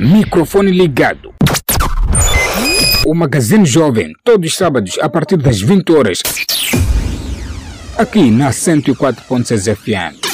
Microfone ligado. O Magazine Jovem, todos os sábados a partir das 20 horas. Aqui na 104.6 FM.